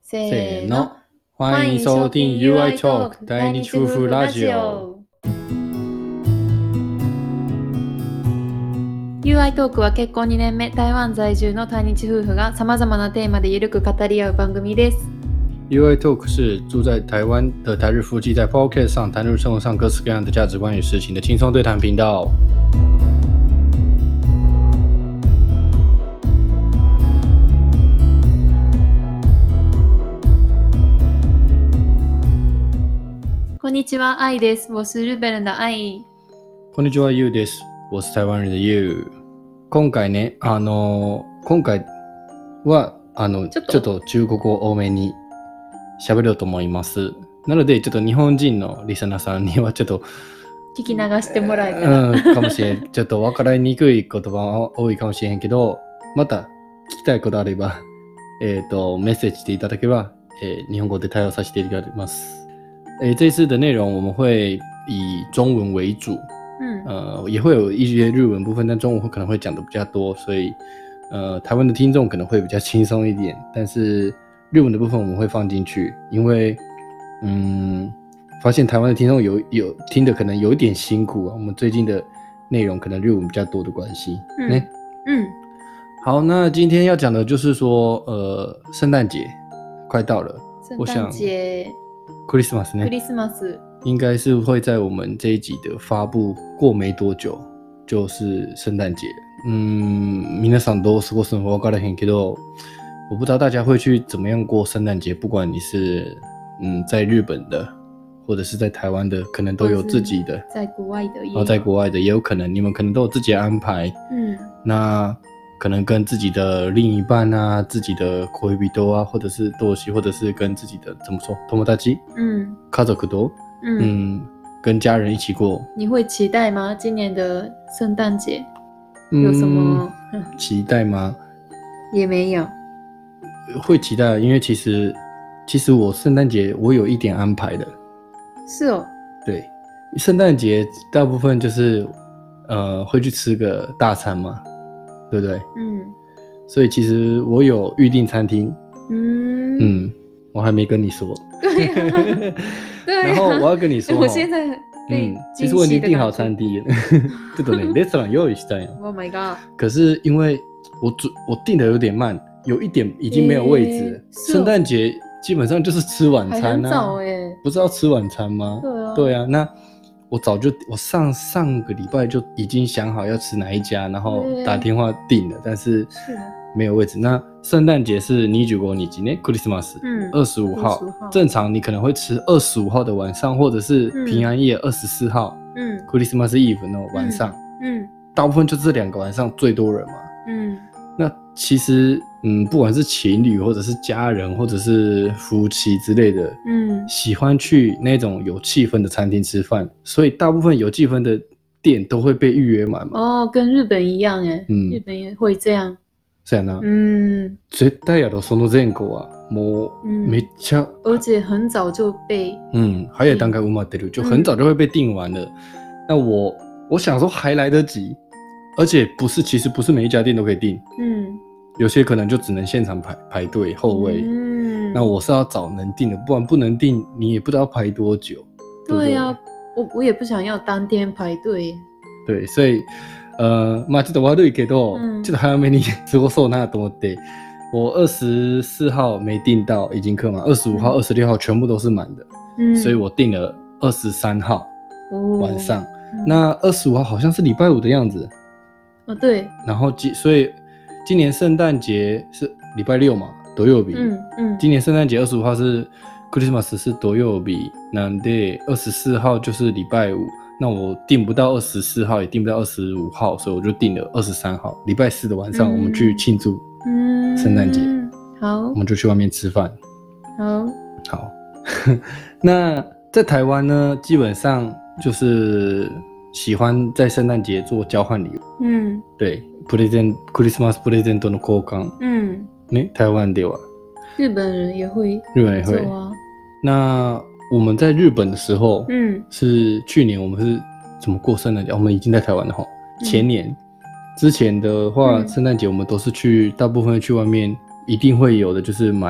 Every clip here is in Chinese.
せーの、欢迎收听 UI Talk 大日夫婦ラジオ。 UI トークは結婚2年目、台湾在住の対日夫婦が様々なテーマでゆるく語り合う番組です。 UI Talk 是住在台湾的台日夫妻在 Podcast 上谈论生活上各式各样的价值观与事情的轻松对谈频道。 こんにちは、愛です。我是日本人的愛。 こんにちは、ゆうです。我是台湾人的ゆう。今回ね、今回はちょっと中国語多めに喋ろうと思います。なのでちょっと日本人のリスナーさんにはちょっと聞き流してもらえたら、 かもしれん。ちょっと分かりにくい言葉は多いかもしれんけど、また聞きたいことあれば、メッセージしていただければ、日本語で対応させていただきます。这一次的内容我们会以中文为主，也会有一些日文部分，但中文可能会讲的比较多，所以台湾的听众可能会比较轻松一点，但是日文的部分我们会放进去，因为发现台湾的听众有听的可能有一点辛苦啊，我们最近的内容可能日文比较多的关系。好，那今天要讲的就是说圣诞节快到了， 圣诞节クリスマスね， クリスマス应该是会在我们这一集的发布过没多久就是圣诞节。皆さんどう過ごすのか分からへんけど，我不知道大家会去怎么样过圣诞节，不管你是在日本的或者是在台湾的，可能都有自己的， 在国外的也有， 然后在国外的也有可能，你们可能都有自己的安排。那可能跟自己的另一半啊，自己的恋人啊，或者是同士，或者是跟自己的怎么说友達，家族と，跟家人一起过。 你会期待吗？今年的圣诞节有什么期待吗？ 也没有。 会期待，因为其实我圣诞节我有一点安排的。 是哦。对， 圣诞节大部分就是会去吃个大餐嘛。对不对？所以其实我有预定餐厅。我还没跟你说。对。然后我要跟你说， 我现在其实我已经订好餐厅了。这个呢，レストラン用意したんよ。 Oh my god！ 可是因为我订的有点慢，有一点已经没有位置了。圣诞节基本上就是吃晚餐啊。很早不是要吃晚餐吗？对啊。那我上个礼拜就已经想好要吃哪一家，然后打电话订了，但是没有位置。那圣诞节是25日ね、クリスマス，25号。正常你可能会吃25号的晚上，或者是平安夜24号，クリスマスイブの晚上。大部分就这2个晚上最多人嘛。那其实不管是情侣或者是家人或者是夫妻之类的，喜欢去那种有气氛的餐厅吃饭，所以大部分有气氛的店都会被预约满嘛。 跟日本一样耶。日本也会这样。 そうやな。絶対やろ、その前後はもうめっちゃ， 而且很早就被早い段階埋まってる，就很早就会被订完了。那我想说还来得及，而且其实不是每一家店都可以订。有些可能就只能现场排队候位。那我是要找能订的，不然不能订你也不知道排多久。 对啊，我也不想要当天排队。 对，所以まあちょっと悪いけど、ちょっと早めに過ごそうなと思って、我24号没订到已经客满，25号、26号全部都是满的，所以我订了23号晚上。那25号好像是礼拜5的样子。 对。然后所以今年圣诞节是礼拜6嘛，土曜日。今年圣诞节25号是クリスマス是土曜日，なんで24号就是礼拜5。那我订不到24号，也订不到25号，所以我就订了23号，礼拜4的晚上，我们去庆祝圣诞节。 好， 我们就去外面吃饭。好。那在台湾呢，基本上就是喜欢在圣诞节做交换礼物。对，クリスマスプレゼントの交換。ね、台湾では。 日本人也会。做啊。 那我们在日本的时候，是去年我们是怎么过圣诞节？我们已经在台湾了齁。前年之前的话，圣诞节我们都是大部分去外面，一定会有的就是买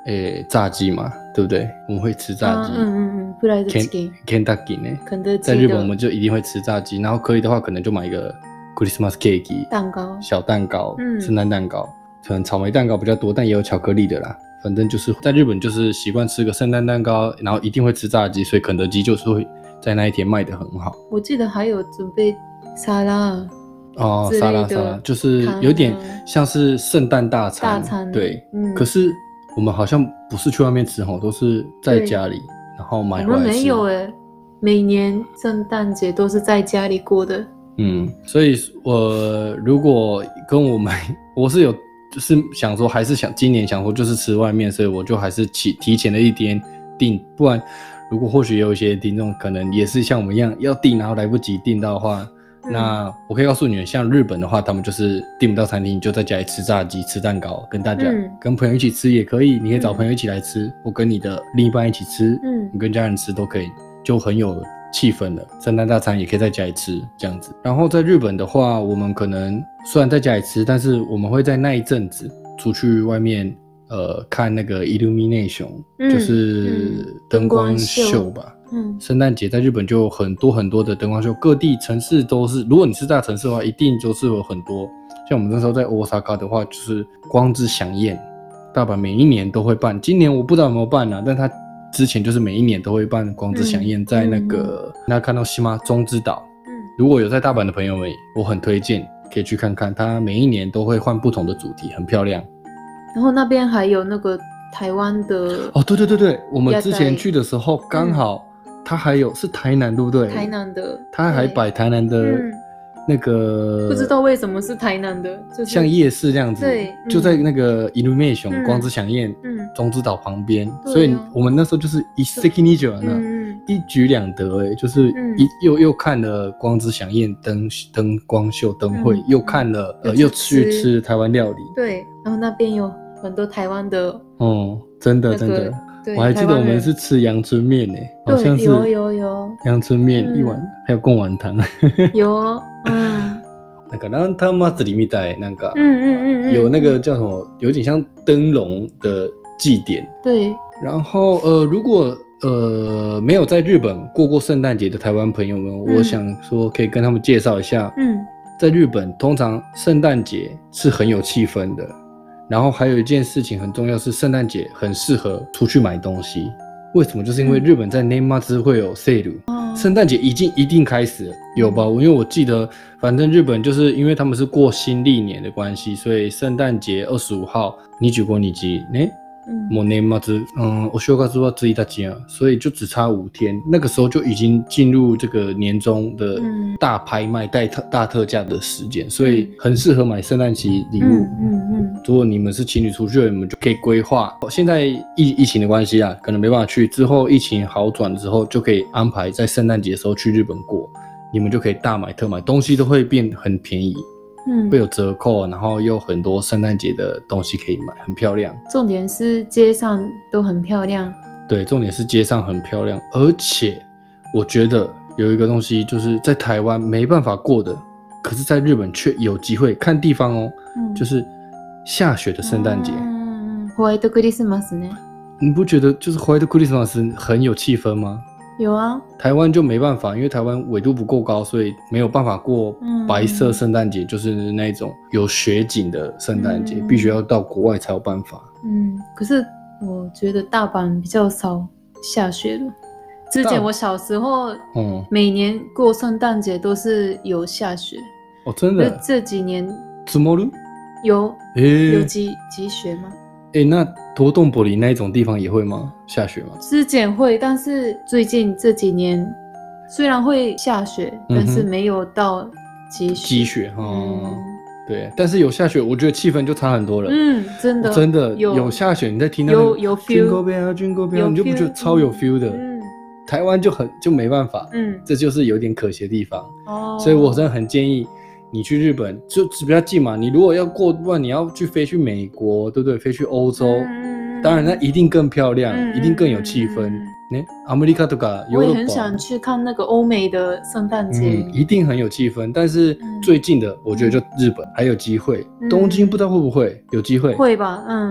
炸鸡嘛，对不对？我们会吃炸鸡。 フライドチキン。 Kentucky 呢？ 肯德基。 在日本我们就一定会吃炸鸡，然后可以的话可能就买一个 Christmas cake 蛋糕， 小蛋糕，圣诞蛋糕，可能草莓蛋糕比较多，但也有巧克力的啦。反正就是在日本就是习惯吃个圣诞蛋糕，然后一定会吃炸鸡，所以肯德基就是会在那一天卖得很好。 我记得还有准备沙拉。 沙拉就是有点像是圣诞大餐，对，可是我们好像不是去外面吃吼，都是在家里，然后买回来吃。 我们没有每年圣诞节都是在家里过的。 所以如果跟我是有就是想说，还是今年想说就是吃外面，所以我就还是提前了一天订，不然如果或许有一些听众可能也是像我们一样要订，然后来不及订到的话。那我可以告诉你们，像日本的话，他们就是订不到餐厅，就在家里吃炸鸡、吃蛋糕，跟大家、跟朋友一起吃也可以，你可以找朋友一起来吃，或跟你的另一半一起吃，你跟家人吃都可以，就很有气氛了。圣诞大餐也可以在家里吃这样子。然后在日本的话，我们可能虽然在家里吃，但是我们会在那一阵子出去外面看那个 illumination，就是灯光秀吧。圣诞节在日本就有很多很多的灯光秀，各地城市都是。如果你是大城市的话，一定就是有很多。像我们那时候在 Osaka 的话，就是光之响宴，大阪每一年都会办。今年我不知道有没有办啊，但他之前就是每一年都会办光之响宴，在那个那看到西吗？中之岛。如果有在大阪的朋友们，我很推荐可以去看看，他每一年都会换不同的主题，很漂亮。 然后那边还有那个台湾的对，我们之前去的时候刚好。它还有是台南对不对？ 台南的， 它还摆台南的那个， 不知道为什么是台南的，就是像夜市这样子， 对， 就在那个 illumination 光之响宴，中之岛旁边，所以我们那时候就是一 sekinijo 一举两得就是又看了光之响宴灯光秀灯会，又看了又去吃台湾料理， 对，然后那边有很多台湾的， 真的。我还记得我们是吃阳春面好像是有阳春面一碗，还有贡丸汤。 有， 那个ランタン祭りみたいなんか，有那个叫什么，有点像灯笼的祭典。 对。 然后如果没有在日本过圣诞节的台湾朋友们，我想说可以跟他们介绍一下。在日本通常圣诞节是很有气氛的。然后还有一件事情很重要，是圣诞节很适合出去买东西。为什么？就是因为日本在年末会有 sale，圣诞节一定开始了，有吧？因为我记得，反正日本就是因为他们是过新历年的关系，所以圣诞节25号25日ね。もう年末お正月は1日啊，所以就只差5天，那个时候就已经进入这个年终的大拍卖、大特价的时间，所以很适合买圣诞节礼物。如果你们是情侣出去了，你们就可以规划。现在疫情的关系啊，可能没办法去，之后疫情好转之后，就可以安排在圣诞节的时候去日本过，你们就可以大买特买，东西都会变很便宜。会有折扣，然后又很多圣诞节的东西可以买，很漂亮。 重点是街上都很漂亮。 对，重点是街上很漂亮，而且我觉得有一个东西就是在台湾没办法过的，可是在日本却有机会，看地方哦，就是下雪的圣诞节。 ホワイトクリスマスね。 你不觉得就是ホワイトクリスマス很有气氛吗？ 有啊， 台湾就没办法，因为台湾纬度不够高，所以没有办法过白色圣诞节，就是那种有雪景的圣诞节，必须要到国外才有办法。 可是我觉得大阪比较少下雪了。之前我小时候，每年过圣诞节都是有下雪。 真的？ 这几年積もる？ 有积雪吗？ 那多洞柏林那一种地方也会吗？下雪吗？ 之前会，但是最近这几年虽然会下雪，但是没有到积雪。 对，但是有下雪，我觉得气氛就差很多了。真的有下雪，你在听那个有 feel， Jingle Bell Jingle Bell， 你就不觉得超有 feel 的？台湾就没办法，这就是有点可惜的地方。所以我真的很建议你去日本就比较近嘛，你如果要过，不然你要飞去美国，对不对？飞去欧洲，当然那一定更漂亮，一定更有气氛。アメリカとかヨーロッパ，我也很想去看那个欧美的圣诞节， 一定很有气氛。但是最近的，我觉得就日本还有机会，东京不知道会不会有机会？ 会吧，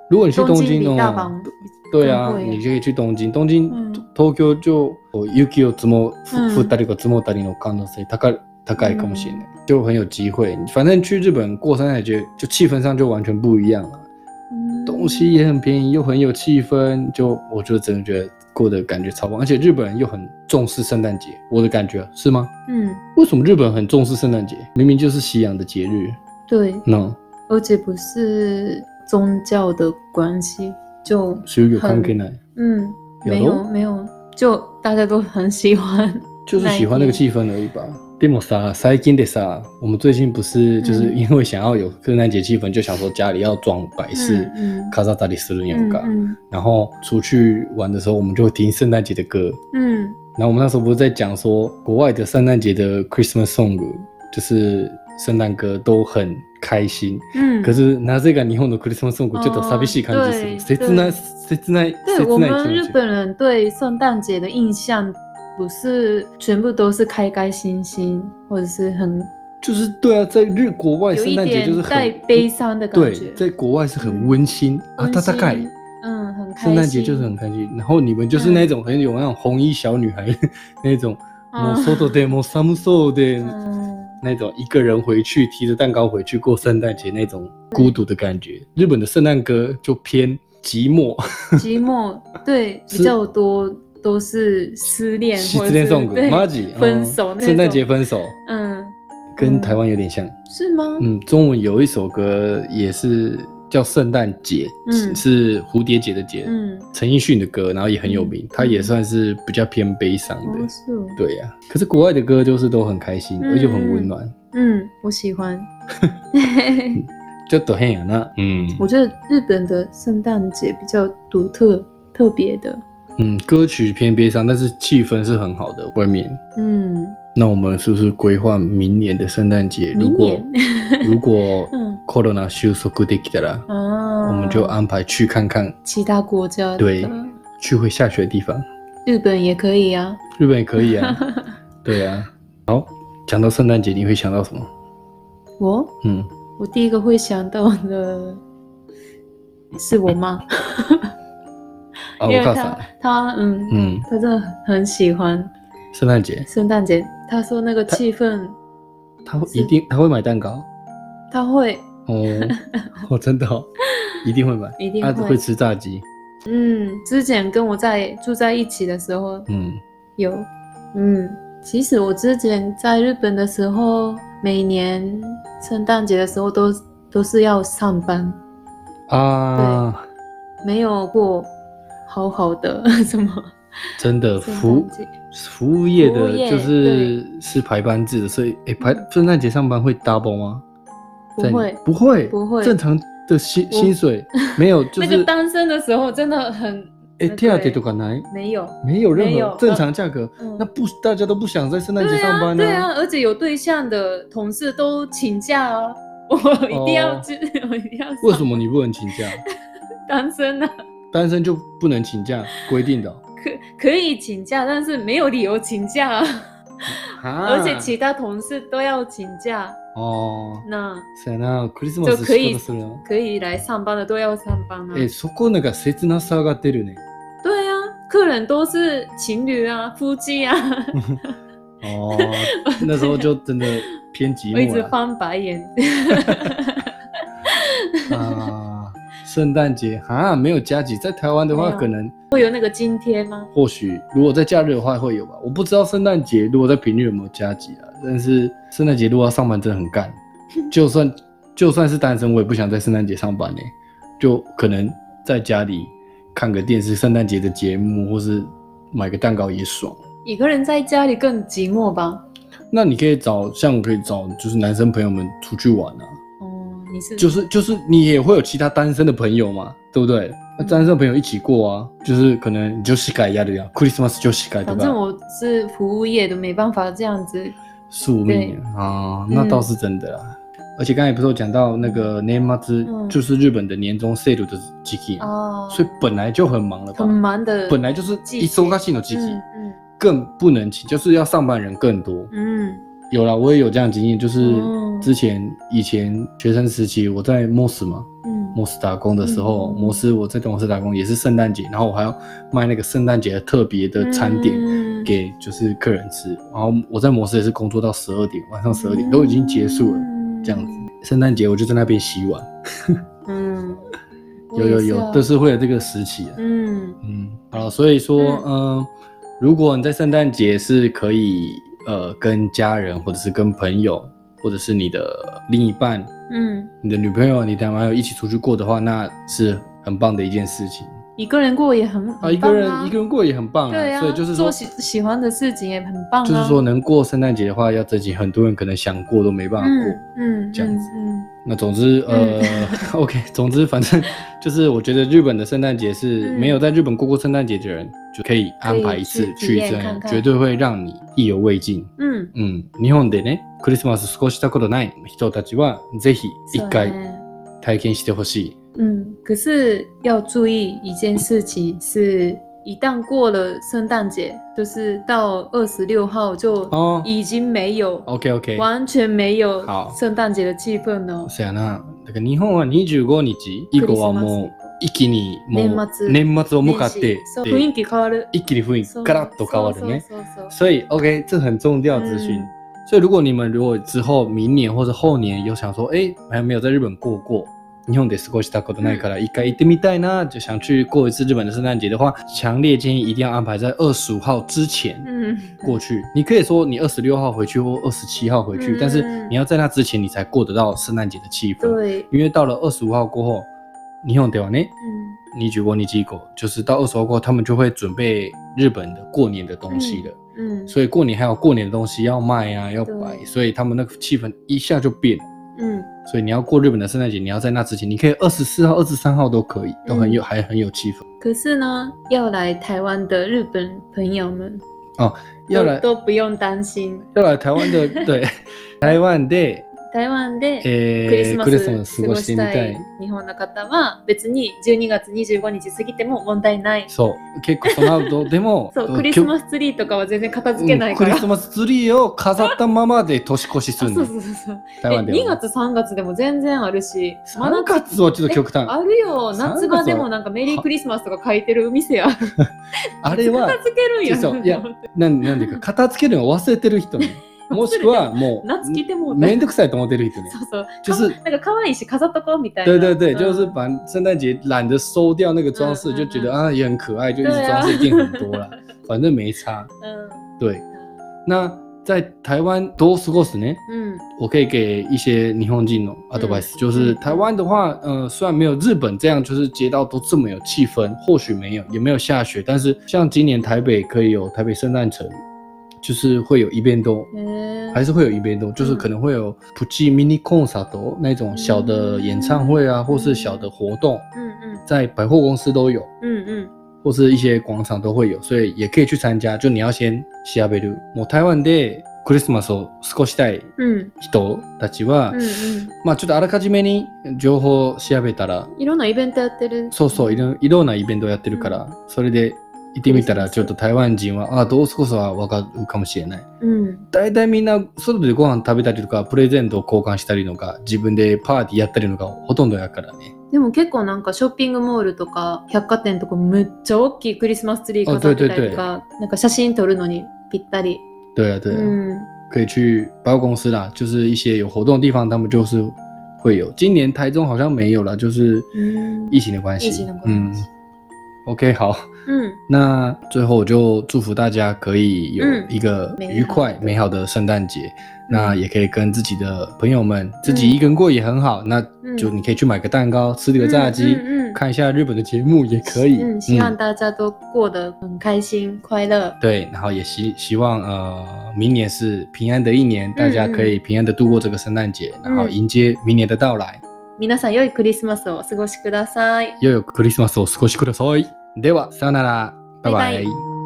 如果你去东京比大阪对啊，你就可以去东京。东京、東京就雪を降ったり積もったりの可能性高いかもしれない，就很有机会。反正去日本过圣诞节，就气氛上就完全不一样了。东西也很便宜，又很有气氛，就我就真的觉得过得感觉超棒。而且日本人又很重视圣诞节，我的感觉是吗？为什么日本很重视圣诞节？明明就是西洋的节日。 对，而且不是宗教的关系。就有関係ない。 没有，就大家都很喜欢， 就是喜欢那个气氛而已吧。でもさ、最近でさ，我们最近不是就是因为想要有圣诞节气氛，就想说家里要装摆饰，飾ったりするやんか。然后出去玩的时候，我们就会听圣诞节的歌。然后我们那时候不是在讲说，国外的圣诞节的 Christmas song， 就是圣诞歌都很开心。可是なぜか日本のクリスマスソングちょっと寂しい感じする。切ない。 对，我们日本人对圣诞节的印象不是全部都是开开心心，或者是很就是对啊，在国外圣诞节就是很带悲伤的感觉。 对，在国外是很温馨啊，大概很开心。 圣诞节就是很开心，然后你们就是那种很有那种红衣小女孩那种，もう外でも寒そうで。那种一个人回去提着蛋糕回去过圣诞节那种孤独的感觉。日本的圣诞歌就偏寂寞， 对，比较多都是失恋或者是分手那种。 圣诞节分手，跟台湾有点像， 是吗？ 中文有一首歌也是叫圣诞节，是蝴蝶结的结，陈奕迅的歌，然后也很有名，他也算是比较偏悲伤的，对呀。可是国外的歌就是都很开心，而且很温暖， 我喜欢。 就都很呀那， 我觉得日本的圣诞节比较独特、特别的， 歌曲偏悲伤，但是气氛是很好的，外面，那我们是不是规划明年的圣诞节？如果corona 収束できたら，我们就安排去看看其他国家的， 对，去会下雪的地方。 日本也可以啊， 对啊。好，讲到圣诞节，你会想到什么？ 我第一个会想到的是我妈。因为他真的很喜欢圣诞节。他说那个气氛， 他会买蛋糕， 他会真的一定会买， 一定会会吃炸鸡。 之前跟我住在一起的时候，有其实我之前在日本的时候，每年圣诞节的时候都是要上班啊，对，没有过好好的什么， 真的服务业的就是排班制的，所以圣诞节上班会 double 吗？不会，正常的薪水没有，就是那个单身的时候真的很手当とかない？没有任何正常价格，那大家都不想在圣诞节上班对啊，而且有对象的同事都请假啊，我一定要为什么你不能请假？ 单身啊， 单身就不能请假，规定的可以请假，但是没有理由请假而且其他同事都要请假那就可以来上班的都要上班啊。 そこなんか切なさが出るね。 对啊，客人都是情侣啊，夫妻啊。 那时候就真的偏寂寞了。 我一直翻白眼。 圣诞节没有加急，在台湾的话可能会有那个津贴吗？ 或许如果在假日的话会有吧，我不知道圣诞节如果在平日有没有加急啊。但是圣诞节如果要上班真的很干，就算是单身，我也不想在圣诞节上班呢，就可能在家里看个电视，圣诞节的节目，或是买个蛋糕也爽。 一个人在家里更寂寞吧？ 那你可以找就是男生朋友们出去玩啊。就是你也会有其他单身的朋友嘛，对不对？那单身的朋友一起过啊，就是可能你就膝盖压的呀 ，Christmas 就膝盖，对吧？ 反正我是服务业的，没办法这样子宿命啊，那倒是真的啦。而且刚才不是有讲到那个年末就是日本的年终 sale 的時期所以本来就很忙了吧？ 很忙的， 本来就是忙しいの時期，更不能请，就是要上班人更多。有啦，我也有这样的经验，就是以前学生时期我在 MOS 嘛摩斯打工的时候，我在摩斯打工也是圣诞节，然后我还要卖那个圣诞节的特别的餐点给就是客人吃，然后我在摩斯也是工作到12点，晚上12点都已经结束了，这样子。圣诞节我就在那边洗碗。有，都是会有这个时期。好，所以说，如果你在圣诞节是可以跟家人或者是跟朋友或者是你的另一半，你的女朋友、你的男朋友一起出去过的话，那是很棒的一件事情。 一个人过也很棒啊， 一个人过也很棒啊。 对啊， 所以就是说做喜欢的事情也很棒啊。 就是说能过圣诞节的话，要珍惜，很多人可能想过都没办法过，这样子。那总之OK， 总之反正就是我觉得日本的圣诞节是没有在日本过过圣诞节的人就可以安排一次去这样，绝对会让你意犹未尽。日本でね、クリスマス過ごしたことない人たちはぜひ一回体験してほしい。 可是要注意一件事情是，一旦过了圣诞节，就是到26号就已经没有 OK 完全没有圣诞節的氣氛了。 そやな。だから日本は25日以降はもう一気にもう年末を向かって雰囲気変わる， 一気に雰囲気ガラッと変わるね。所以 OK， 这很重要资讯。所以如果之后明年或者后年有想说，还没有在日本过日本で過ごしたことないから一回行ってみたいな，就想去过一次日本的圣诞节的话，强烈建议一定要安排在25号之前过去。你可以说你26号回去或27号回去，但是你要在那之前你才过得到圣诞节的气氛。对，因为到了25号过后，日本ではね、25日以降，就是到20号过后，他们就会准备日本的过年的东西了。所以过年还有过年的东西要卖啊，要摆，所以他们那个气氛一下就变了。所以你要过日本的圣诞节，你要在那之前，你可以24号、23号都可以，还很有气氛。可是呢，要来台湾的日本朋友们要来都不用担心。 要来台湾的对，台湾でクリスマス過ごしたい日本の方は別に12月25日過ぎても問題ない。 そう、結構その後でもそう、クリスマスツリーとかは全然片付けないから、 クリスマスツリーを飾ったままで年越しするの。そう台湾では2月3月でも全然あるし、 3月はちょっと極端。 あるよ、夏場でもなんかメリークリスマスとか書いてる店ある。 あれは片付けるんや。 そういや、なんでか片付けるのを忘れてる人ね。もしくはもうめんどくさいと思ってる人ね。 就是那个可愛いし飾っとこうみたいな。 对，就是把圣诞节懒得收掉那个装饰，就觉得也很可爱，就一直装饰一定很多啦，反正没差。对。那在台湾多過ごすね。我可以给一些日本人のアドバイス，就是台湾的话，虽然没有日本这样，就是街道都这么有气氛，或许也没有下雪，但是像今年台北可以有台北圣诞城。就是会有イベント，还是会有イベント，就是可能会有プチミニコンサート那种小的演唱会啊，或是小的活动，在百货公司都有，或是一些广场都会有，所以也可以去参加。就你要先調べる。もう台湾でクリスマスを過ごしたい人たちは、まあちょっとあらかじめに情報を調べたら、 いろんなイベントやってる。 そう、いろんなイベントやってるから、それで行ってみたらちょっと台湾人はどう過ごすは分かるかもしれない。大体みんな外でご飯食べたりとかプレゼントを交換したりのか自分でパーティーやったりのがほとんどやからね。 でも結構なんかショッピングモールとか百貨店とかめっちゃ大きいクリスマスツリー飾ってたりとか、なんか写真撮るのにぴったり。 对啊，可以去百货公司啦，就是一些有活动的地方，他们就是会有。今年台中好像没有啦，就是疫情的关系。OK， 好。那最后我就祝福大家可以有一个愉快美好的圣诞节。那也可以跟自己的朋友们，自己一个人过也很好。那就你可以去买个蛋糕，吃个炸鸡，看一下日本的节目也可以。 希望大家都过得很开心快乐。 对，然后也希望明年是平安的一年，大家可以平安的度过这个圣诞节，然后迎接明年的到来。 皆さん良いクリスマスをお過ごしください。 良いクリスマスをお過ごしください。では、さよなら。バイバイ。